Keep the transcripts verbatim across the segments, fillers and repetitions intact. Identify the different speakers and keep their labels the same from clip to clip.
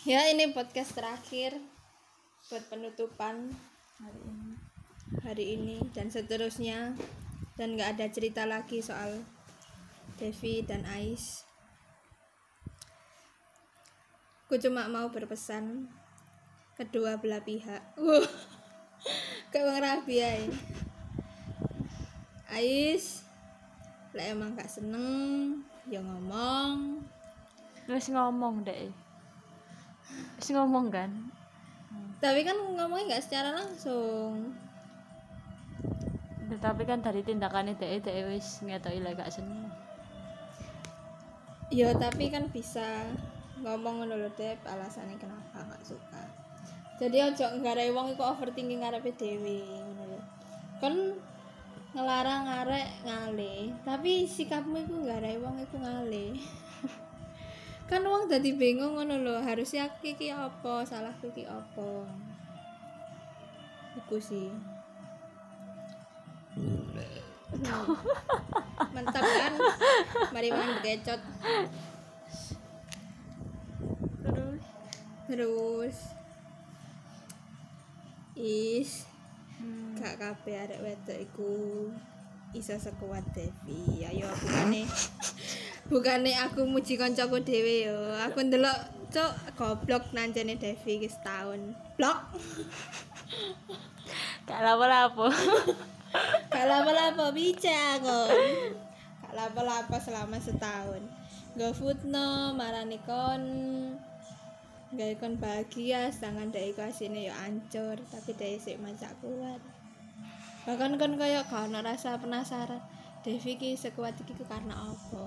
Speaker 1: Ya, ini podcast terakhir buat penutupan
Speaker 2: hari ini.
Speaker 1: hari ini dan seterusnya, dan nggak ada cerita lagi soal Devi dan Ais. Aku cuma mau berpesan kedua belah pihak. Wuh, kayak Bang Rabi ya. Ais, lah emang gak seneng, ya ngomong.
Speaker 2: Wis ngomong deh. Wis ngomong kan.
Speaker 1: Tapi kan ngomongnya nggak secara langsung.
Speaker 2: Tetapi kan dari tindakannya deh deh wis ngetoki lek gak seneng.
Speaker 1: Ya tapi kan bisa ngomong ngono lho, Dep, alasannya kenapa gak suka. Jadi ojo nggarai wong iku overthinking karepe dhewe ngono lho. Kon ngelarang arek ngale, tapi sikapmu iku nggarai wong iku ngale. Kan wong dadi bingung ngono lho, harusnya iki apa, salahku iki apa. Iku sih. Mantap kan? Mari mangan bekecot.
Speaker 2: Terus
Speaker 1: Terus is
Speaker 2: hmm.
Speaker 1: gak kabeh arek wedok iku iso sekuat Devi. Ayo bukane bukane aku muji kancaku dhewe yo. Aku ndelok cuk goblok nancene Devi iki setahun. Blok.
Speaker 2: Gak lapo-lapo.
Speaker 1: Gak lama-lama bicara kon. Gak lama-lama selama setahun. Gak footno marani kon. Gak kon bahagia sedangkan dhek iku asine yo ancur, tapi dhek sik macak kuat. Bahkan kon koyo gak ono rasa penasaran. Devi ki sekuat iki karena apa?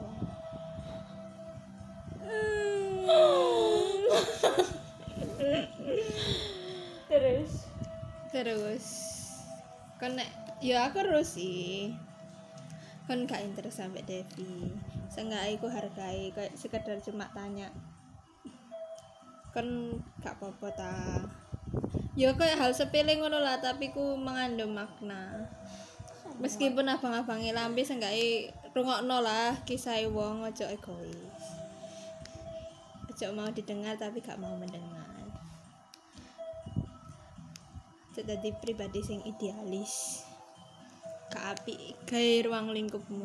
Speaker 2: Terus
Speaker 1: Terus kon nek ya aku terus sih. Kon gak interest sampe Devi. Seenggaknya aku hargai kayak sekedar cuma tanya. Kon gak apa-apa ta. Ya kayak hal sepele ngono lah, tapi ku mengandung makna. Meskipun abang-abange lambe seenggaknya rungokno lah kisah wong, ojo egois. Ojo mau didengar tapi gak mau mendengar. Jadi pribadi sing idealis. Gak apik gawe ruang lingkupmu.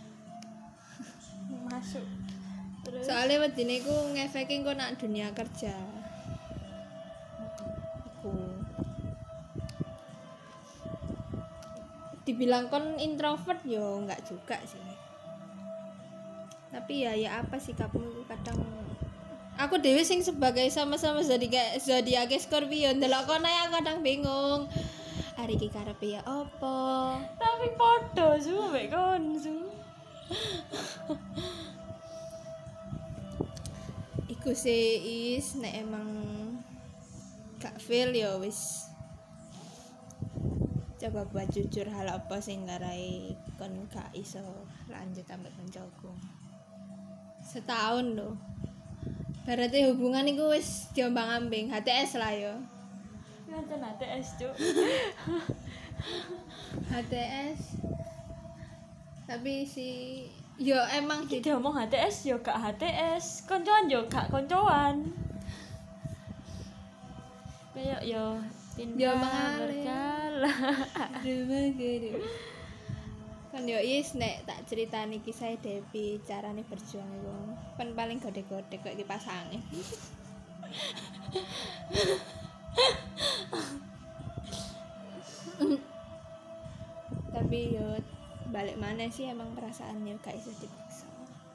Speaker 2: masuk. Terus
Speaker 1: Soalnya wedine ku ngefeki engko nak dunia kerja. Iku. Dibilang kon introvert yo enggak juga sih. Tapi ya ya apa sikapmu itu kadang aku dewe sing sebagai sama-sama zodiak zodiak Scorpio ndelok kon ae aku kadang bingung. Hari iki karepe ya apa?
Speaker 2: tapi podo su mek kon su.
Speaker 1: Iku sih is nek emang gak feel ya wis coba buat jujur hal apa sing ngarai kon gak iso lanjut sampai koncoku. Setahun loh. Berarti hubungan iku wis diombang-ambing, H T S lah yo.
Speaker 2: Ngancen H T S cuk.
Speaker 1: H T S. Tapi si yo emang
Speaker 2: Iki
Speaker 1: di
Speaker 2: diomong H T S yo gak H T S, koncoan yo gak koncoan. Kayak yo pindah
Speaker 1: Yo mengalir.
Speaker 2: berjalan.
Speaker 1: rumah gede. Kan yo is nek tak ceritani kisah Devi carane berjuang iku kan paling gede-gede kok dipasangin. Tapi yo balik mana sih emang perasaannya gak iso dipaksa.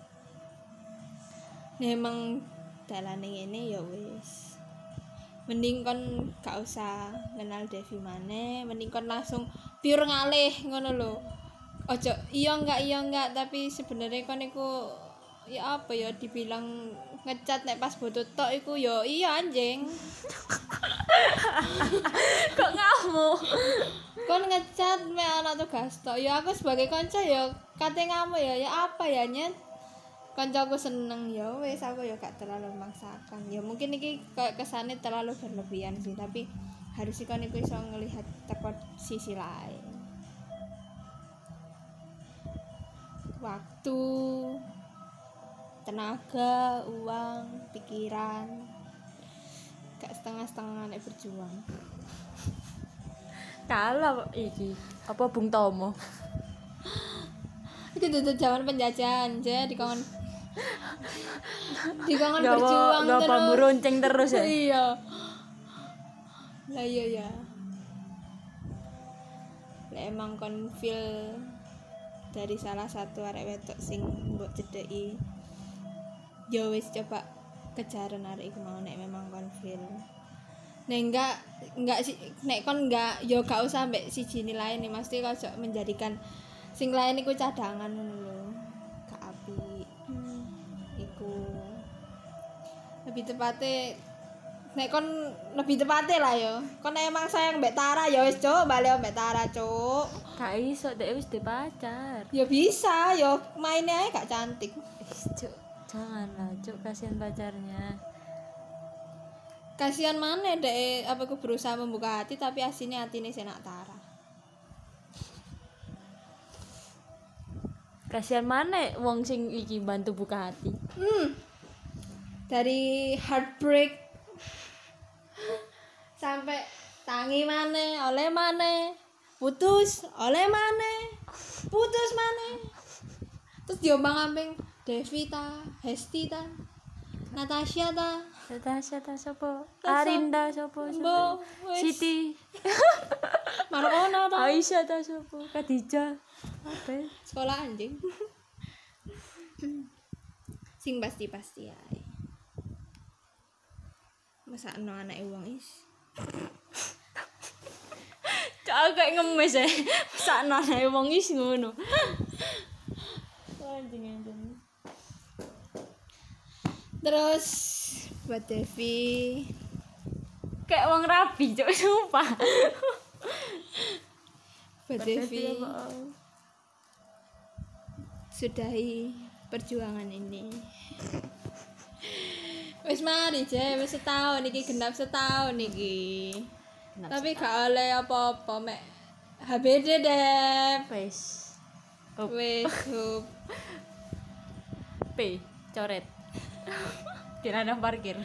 Speaker 1: Nek emang dalane ngene ya wis. Mending kon gak usah kenal Devi maneh, mending kon langsung pure ngalih ngono lho. Ojo iya enggak iya enggak, tapi sebenarnya kon iku ya apa ya dibilang ngecat nek pas bodo tok iku ya iya anjing.
Speaker 2: Kok ngamuk?
Speaker 1: Kon ngecat mek ana tugas tok. Ya aku sebagai kanca ya kate ngamuk ya ya apa ya nyet. Kancaku seneng ya wis aku ya gak terlalu memaksakan. Ya mungkin iki kayak kesane terlalu berlebihan sih, tapi harus kon iku iso ngelihat teko sisi lain. Waktu, tenaga, uang, pikiran, gak setengah-setengah nek berjuang.
Speaker 2: Kalah iki apa Bung Tomo.
Speaker 1: Itu tuh zaman penjajahan aja di kongon di kongon berjuang
Speaker 2: terus. Gak bambu ronceng terus ya.
Speaker 1: Iya. Lah iya ya. Lah emang kon feel dari salah satu arek wedok sing mbok cedeki. Ya wis coba kejaran arek iku mau nek memang kon feel. Nek enggak enggak sih nek kon enggak yo gak usah mbek siji nilai nih mesti kok menjadikan sing lain iku cadangan ngono lho. Gak apik. Hmm. Iku lebih tepatnya nek kon lebih tepatnya lah yo. Kon emang sayang mbek Tara ya wis cuk, bali mbek Tara cuk.
Speaker 2: Gak iso dek wis duwe pacar.
Speaker 1: Ya bisa, yo mainnya ae gak cantik.
Speaker 2: Wis cuk, janganlah cuk kasihan pacarnya.
Speaker 1: Kasihan mana dek apa aku berusaha membuka hati tapi aslinya hatine senak Tara.
Speaker 2: Kasihan mana wong sing iki bantu buka hati.
Speaker 1: Hmm. Dari heartbreak sampai tangi mana, oleh mana, putus, oleh mana, putus mana. Terus diombang ambing Devita, Hesti ta, Natasha ta,
Speaker 2: Natasha ta sapa?
Speaker 1: Ta
Speaker 2: Arinda sapa?
Speaker 1: Mbo, wis.
Speaker 2: Siti.
Speaker 1: Marona ta,
Speaker 2: Aisyah ta sapa? Khadijah. Apa?
Speaker 1: sekolah anjing. Sing pasti-pasti ae. Masa no anake wong is.
Speaker 2: Cak agak ngemes ya. Sakno ae wong is ngono. Anjing anjing.
Speaker 1: Terus buat Devi
Speaker 2: Kayak wong rabi cuk sumpah.
Speaker 1: buat Devi sudahi perjuangan ini. Wis mari je, wis setahun iki genap setahun iki. Tapi gak oleh apa-apa mek H B D deh.
Speaker 2: Wis.
Speaker 1: Wis hup.
Speaker 2: P coret. Tirana parkir.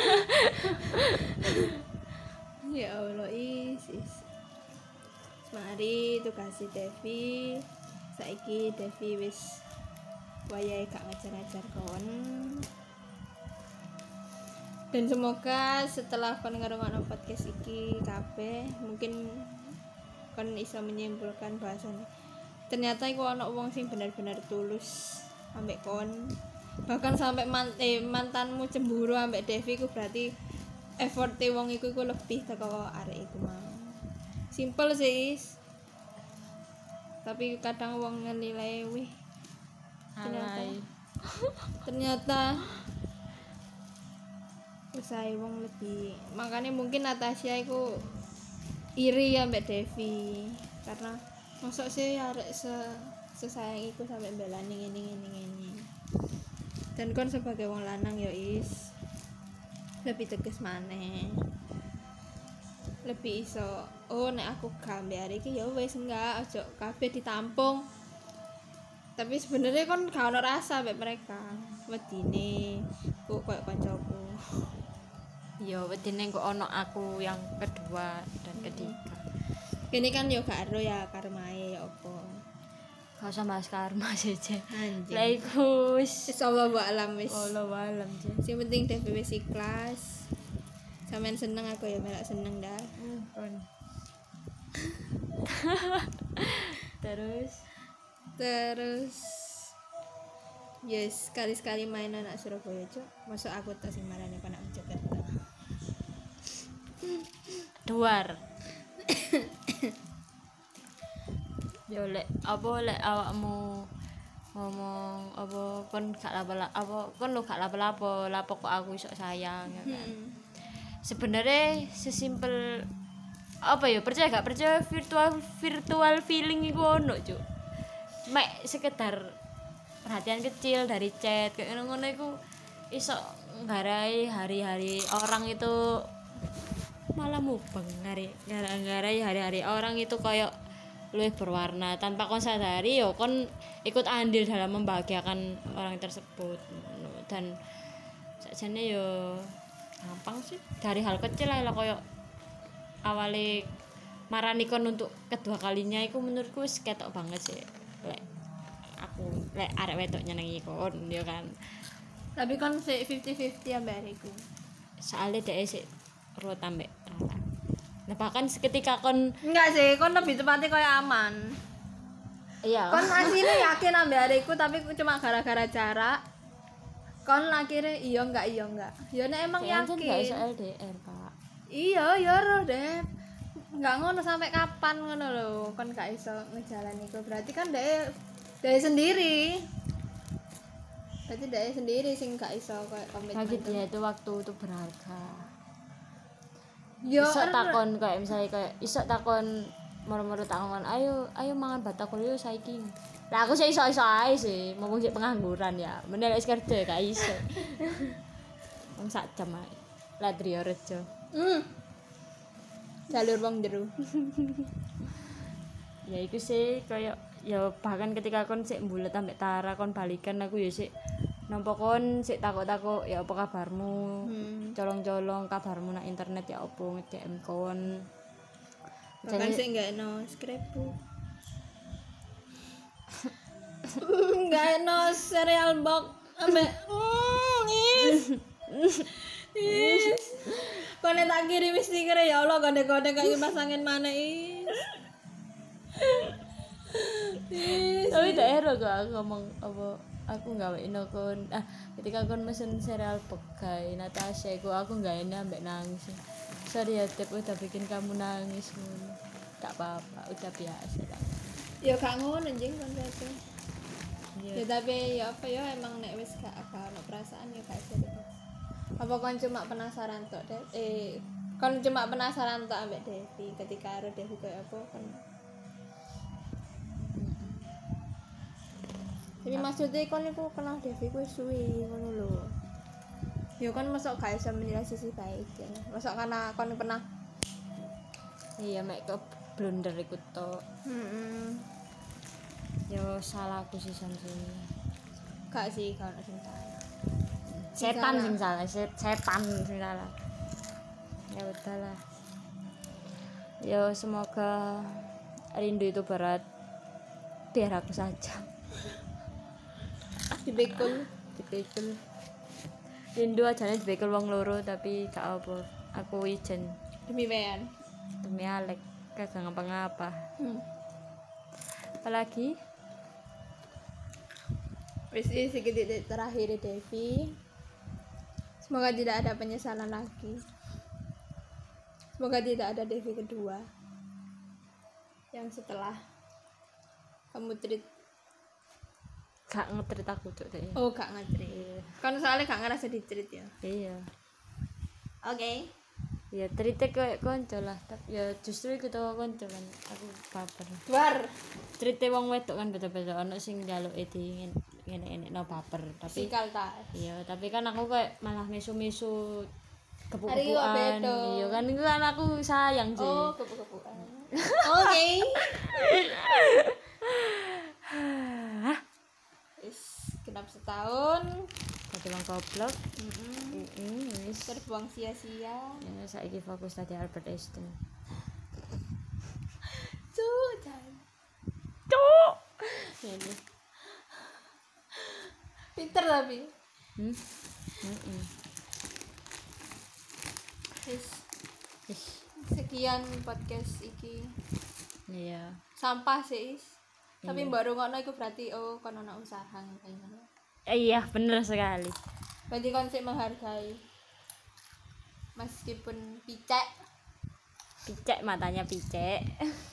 Speaker 1: Ya Allah is, is. Mari tukasi Devi. Saiki Devi wis wayahe gak ngajar-ngajar kon. Dan semoga setelah kon ngrungokno podcast iki kabeh mungkin kon iso menyimpulkan bahasane. Ternyata iku ana wong sing bener-bener tulus ambek kon. Bahkan sampai man, eh, mantanmu cemburu ambek Devi ku berarti effort-e wong iku iku lebih teko arek iku mau. Simple sih. Is. Tapi kadang wong ngenilai wih ternyata
Speaker 2: Alay.
Speaker 1: ternyata usaha wong lebih makanya mungkin Natasha iku iri ya mbak Devi karena masuk sih arek se sesayang iku sampai belani ngene ngene ngene dan kon sebagai wong lanang ya is lebih tegas maneh lebih iso oh nek aku gambe hari iki ya wis enggak ojo kabeh ditampung tapi sebenarnya kon gak ono rasa mbek mereka wedine kok koyo kancaku
Speaker 2: Ya wedine kok ono aku yang kedua dan ketiga.
Speaker 1: kene kan yo gak ero ya karmae ya apa
Speaker 2: Gak usah bahas karma saja.
Speaker 1: anjing
Speaker 2: Lah iku wis
Speaker 1: wis Allah wa alam wis
Speaker 2: Allah alam je.
Speaker 1: sing penting Devi wis ikhlas sampean seneng aku ya melak seneng dah
Speaker 2: Kon. Terus
Speaker 1: terus yes sekali-sekali main anak Surabaya cok masuk aku tak sing marane anak Jakarta
Speaker 2: duar. Yo lek apa lek awakmu ngomong apa kon gak lapo apa kon lu gak lapo-lapo lapo kok aku iso sayang ya kan.
Speaker 1: hmm.
Speaker 2: Sebenarnya sesimpel apa ya percaya gak percaya virtual virtual feeling iku ono cuk mek sekedar perhatian kecil dari chat kayak ngono-ngono iku iso nggarai hari-hari orang itu malah mubeng ngari nggarai hari-hari orang itu kayak luwih berwarna tanpa kon sadari yo kon ikut andil dalam membahagiakan orang tersebut dan sakjane yo gampang sih dari hal kecil lah koyo awale marani kon untuk kedua kalinya iku menurutku wis ketok banget sih lek aku lek arek wedok nyenengi kon ya kan
Speaker 1: Tapi kan sik fifty fifty ambek areku.
Speaker 2: soalnya dhek sik ro tambek Rara. Nah bahkan seketika kon
Speaker 1: Enggak sih, kon lebih tepatnya kayak aman.
Speaker 2: iya
Speaker 1: Kon aslinya yakin ambek areku tapi cuma gara-gara jarak. Kon akhirnya iya enggak iya enggak. Ya nek emang
Speaker 2: Jangan
Speaker 1: yakin.
Speaker 2: gak iso L D R Pak
Speaker 1: Iya, ya roh deh. Enggak ngono sampai kapan ngono lho. Kon gak iso ngejalani iku. Berarti kan dhek dhek sendiri. Berarti dhek sendiri sing gak iso koyo komitmen.
Speaker 2: bagi dia itu waktu itu berharga
Speaker 1: Yo
Speaker 2: iso takon kayak misalnya kayak iso takon moro-moro takon ayo ayo mangan batagor yo saiki lah aku sih iso-iso ae sih mumpung sik pengangguran ya meneh wis kerja gak iso wong sak jam ae lah Drio Rejo
Speaker 1: Hmm. Jalur wong jero.
Speaker 2: ya iku sih kayak ya bahkan ketika kon sik mbulet ambek Tara kon balikan aku ya sik nampa kon sik takok-takok ya apa kabarmu
Speaker 1: Hmm.
Speaker 2: colong-colong kabarmu nang internet ya opo nge-D M kon
Speaker 1: Bahkan sih enggak no scrapbook. Enggak no cereal box ambek mm, is. Is. Kone tak kirim stiker ya Allah kode-kode kayak kipas angin mana is. Is.
Speaker 2: tapi daerah kok aku ngomong apa aku nggawein kon ah ketika kon mesen cereal pegai Natasha iku aku nggak ini ambek nangis sorry ya Tep udah bikin kamu nangis ngono tak apa-apa udah biasa lah
Speaker 1: Ya gak ngono jeng kon rasa.
Speaker 2: iya
Speaker 1: Ya tapi ya apa ya emang nek wis gak gak ono perasaan ya gak iso dipaksa. Apa kon cuma penasaran tok deh eh kon cuma penasaran tok ambek Devi ketika karo Devi koyo apa kon. Tapi maksudnya kon iku kenal Devi kuwi suwi ngono lho. Ya kan masuk gak iso menilai sisi baik ya. Masuk karena kon pernah
Speaker 2: iya mek ke blunder iku tok
Speaker 1: heeh.
Speaker 2: yo salahku sih san sini
Speaker 1: Gak sih kalau sing salah.
Speaker 2: setan
Speaker 1: salah.
Speaker 2: sing salah set- setan sing salah ya udahlah yo semoga rindu itu berat biar aku saja
Speaker 1: Dibekul.
Speaker 2: dipikul rindu aja nih dipikul wong loro tapi gak apa aku ijen
Speaker 1: Demi wean.
Speaker 2: demi Alek kagak ngapa-ngapa
Speaker 1: Hmm.
Speaker 2: apalagi
Speaker 1: Wis iki sedikit terakhir Devi. Semoga tidak ada penyesalan lagi. Semoga tidak ada Devi kedua. Yang setelah kamu treat
Speaker 2: gak ngetrit aku tuh deh
Speaker 1: oh gak nge-treat. Kan soalnya gak ngerasa di treat ya.
Speaker 2: iya
Speaker 1: Oke.
Speaker 2: ya cerita kayak konco lah tapi ya justru itu tau konco kan aku baper
Speaker 1: Luar.
Speaker 2: cerita wong wedok kan beda-beda ono sing njaluk di ngene-ngene no baper tapi
Speaker 1: Sikal tas.
Speaker 2: iya tapi kan aku kayak malah misu-misu
Speaker 1: Hari ini kok
Speaker 2: kepu-kepuan
Speaker 1: beda.
Speaker 2: iya kan itu kan aku sayang sih
Speaker 1: Oh, kepu-kepuan. Oke. Wis genap setahun.
Speaker 2: tapi wong goblok
Speaker 1: Heeh.
Speaker 2: heeh wis
Speaker 1: Terbuang sia-sia.
Speaker 2: ya saiki fokus tadi Albert Einstein
Speaker 1: Sudah.
Speaker 2: cuk ini
Speaker 1: Pinter tapi.
Speaker 2: hmm heeh
Speaker 1: Wis
Speaker 2: wis
Speaker 1: sekian podcast iki.
Speaker 2: iya
Speaker 1: Sampah sih. Is. Tapi baru ngono iku berarti oh kon ana usaha kayak ngono.
Speaker 2: Eh, iya bener sekali
Speaker 1: Berarti kon sik menghargai. Meskipun picek.
Speaker 2: picek matanya picek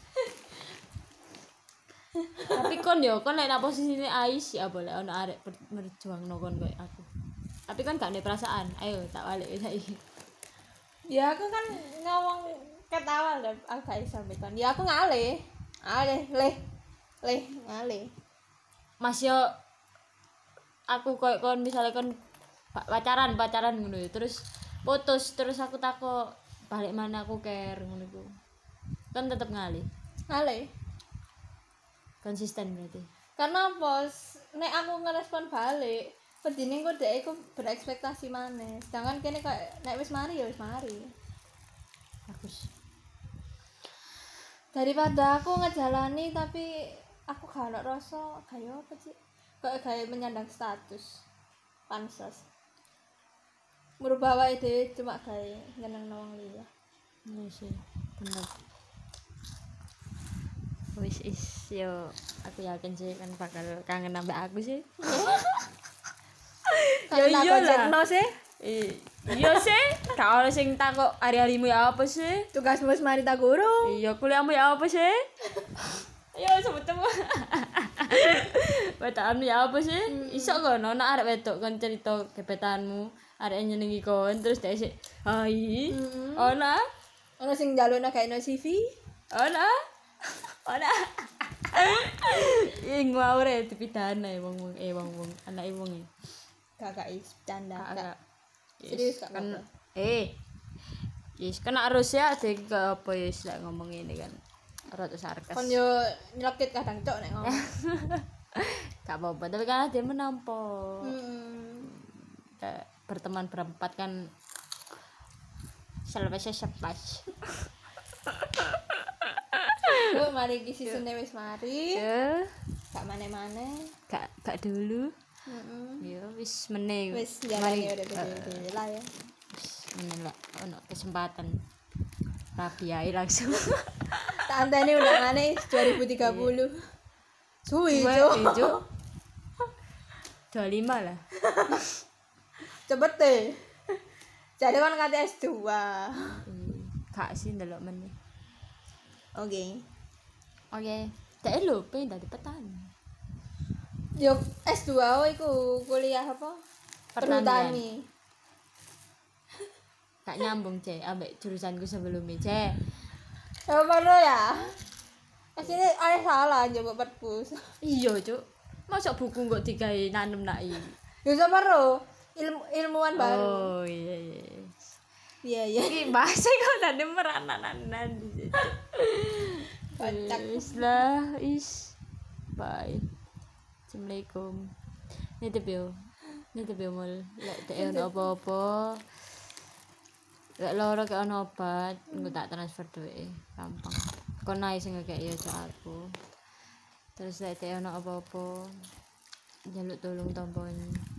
Speaker 2: tapi kon yo kon lek nang posisine Ais ya boleh ono arek ber- merjuangno kon koyo aku tapi kan gak ada perasaan ayo tak balik saiki
Speaker 1: Ya aku kan ngomong ketawa lho agak iso kon. Ya aku ngalih. Ngalih, leh. Leh, ngalih.
Speaker 2: Mas yo aku koyo kon misalnya kon pa- pacaran pacaran ngono ya terus putus terus aku takut balik mana aku care ngono iku kan tetep ngalih
Speaker 1: Ngalih.
Speaker 2: konsisten berarti
Speaker 1: Karena bos nek aku ngerespon balik pedine kok dhek iku berekspektasi maneh. Sedangkan kene kayak nek wis mari ya wis mari.
Speaker 2: Bagus.
Speaker 1: Daripada aku ngejalani tapi aku gak ono rasa kayak apa sih? Kayak kayak menyandang status pansos. Merubah awake dhewe cuma kayak nyeneng wong liya.
Speaker 2: Iya sih, bener. Wis is yo aku yakin sih kan bakal kangen ambek aku sih.
Speaker 1: Ya iya lah. Sih.
Speaker 2: Iya sih, gak ono sing takok hari-harimu ya apa sih?
Speaker 1: Tugasmu wis mari tak guru.
Speaker 2: Iya, kuliahmu ya apa sih? Ayo sebut temu. Wetaanmu ya apa sih? Hmm. Iso kono nek arek wedok kon cerita gebetanmu, arek nyenengi kon terus dhek sik, "Hai." Hmm. Ono
Speaker 1: ono sing njalukno gawe no C V?
Speaker 2: Ono. Ono. Ing ngawure dipidana wong-wong eh wong-wong anake wong e.
Speaker 1: Kakak is canda.
Speaker 2: Kakak.
Speaker 1: Serius kak
Speaker 2: kan eh yes kena harus ya dek apa ya yes, lek ngomong ini kan rada sarkas
Speaker 1: kon yo nyelekit kadang cok nek ngomong
Speaker 2: gak apa-apa tapi kan dia menampol
Speaker 1: hmm.
Speaker 2: berteman berempat kan selesai sepas
Speaker 1: Yuk mari iki sisune wis mari
Speaker 2: ya
Speaker 1: gak maneh-maneh
Speaker 2: gak gak dulu
Speaker 1: heeh
Speaker 2: yo wis meneh
Speaker 1: wis jalani urip dhewe lah ya
Speaker 2: wis meneh lah ono kesempatan rabi ae langsung
Speaker 1: tak anteni undangane dua ribu tiga puluh suwi cuk
Speaker 2: dua puluh lima lah
Speaker 1: cepet deh jadi kan kate S dua
Speaker 2: gak sih ndelok meneh
Speaker 1: oke
Speaker 2: oke tak lho pengen dadi petani
Speaker 1: yo S dua oh iku kuliah apa? Pertanian.
Speaker 2: Gak nyambung, Cek, ambek jurusanku sebelumnya, Cek.
Speaker 1: Ya perlu ya. Asline ayah salah njogo perpus.
Speaker 2: Iya, Cuk. Mosok buku kok digawe nanem nak iki.
Speaker 1: Ya perlu ilmu ilmuwan baru.
Speaker 2: Oh, iya iya.
Speaker 1: Iya iya.
Speaker 2: Iki bahasa kok tadi meranan-anan di situ. Wis lah, is. Bye. Assalamualaikum. Nitip yo. Nitip yo mul. Lek dek ono apa-apa. Lek loro kek ono obat, engko tak transfer duwike. Gampang. Kon ae sing ngekek yo aku. Terus lek dek ono apa-apa, njaluk tolong tompon.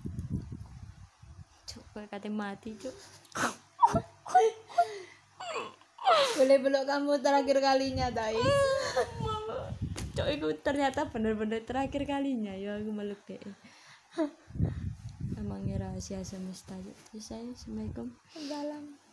Speaker 2: Cuk, kowe kate mati, Cuk.
Speaker 1: Boleh belok kamu terakhir kalinya, Dai.
Speaker 2: Cok itu ternyata bener-bener terakhir kalinya ya aku meluk deh. Emangnya rahasia semesta. Selesai. Assalamualaikum.
Speaker 1: Dalam.